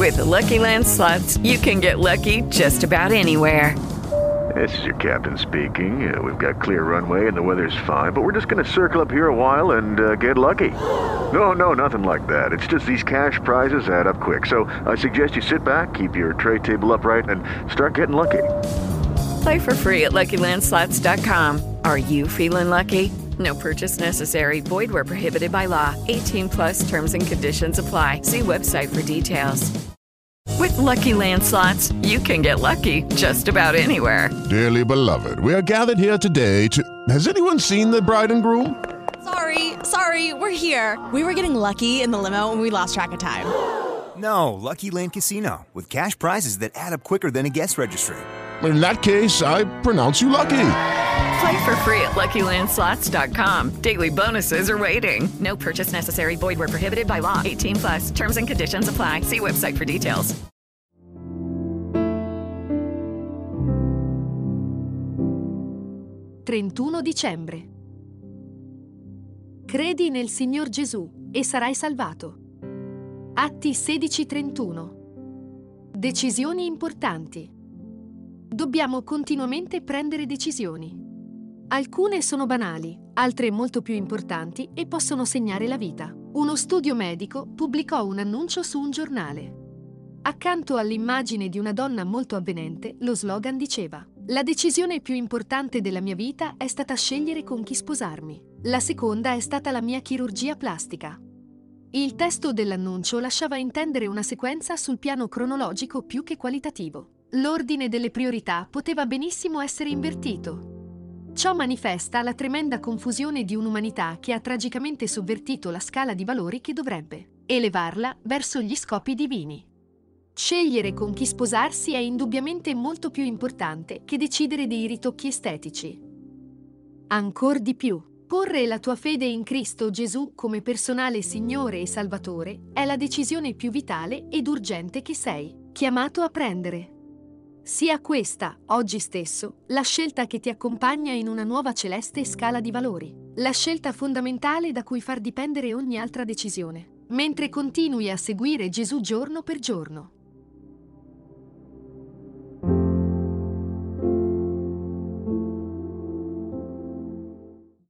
With the Lucky Land Slots, you can get lucky just about anywhere. This is your captain speaking. We've got clear runway and the weather's fine, but we're just going to circle up here a while and get lucky. No, nothing like that. It's just these cash prizes add up quick. So I suggest you sit back, keep your tray table upright, and start getting lucky. Play for free at LuckyLandSlots.com. Are you feeling lucky? No purchase necessary. Void where prohibited by law. 18 plus terms and conditions apply. See website for details. With Lucky Land Slots, you can get lucky just about anywhere. Dearly beloved, we are gathered here today to... Has anyone seen the bride and groom? Sorry, we're here. We were getting lucky in the limo and we lost track of time. No, Lucky Land Casino, with cash prizes that add up quicker than a guest registry. In that case, I pronounce you lucky. Play for free at LuckyLandSlots.com. Daily bonuses are waiting. No purchase necessary. Void where prohibited by law. 18 plus. Terms and conditions apply. See website for details. «31 dicembre. Credi nel Signor Gesù e sarai salvato». Atti 16:31. Decisioni importanti. Dobbiamo continuamente prendere decisioni. Alcune sono banali, altre molto più importanti e possono segnare la vita. Uno studio medico pubblicò un annuncio su un giornale. Accanto all'immagine di una donna molto avvenente, lo slogan diceva: «La decisione più importante della mia vita è stata scegliere con chi sposarmi. La seconda è stata la mia chirurgia plastica». Il testo dell'annuncio lasciava intendere una sequenza sul piano cronologico più che qualitativo. L'ordine delle priorità poteva benissimo essere invertito. Ciò manifesta la tremenda confusione di un'umanità che ha tragicamente sovvertito la scala di valori che dovrebbe elevarla verso gli scopi divini. Scegliere con chi sposarsi è indubbiamente molto più importante che decidere dei ritocchi estetici. Ancor di più, porre la tua fede in Cristo Gesù come personale Signore e Salvatore è la decisione più vitale ed urgente che sei chiamato a prendere. Sia questa, oggi stesso, la scelta che ti accompagna in una nuova celeste scala di valori, la scelta fondamentale da cui far dipendere ogni altra decisione, mentre continui a seguire Gesù giorno per giorno.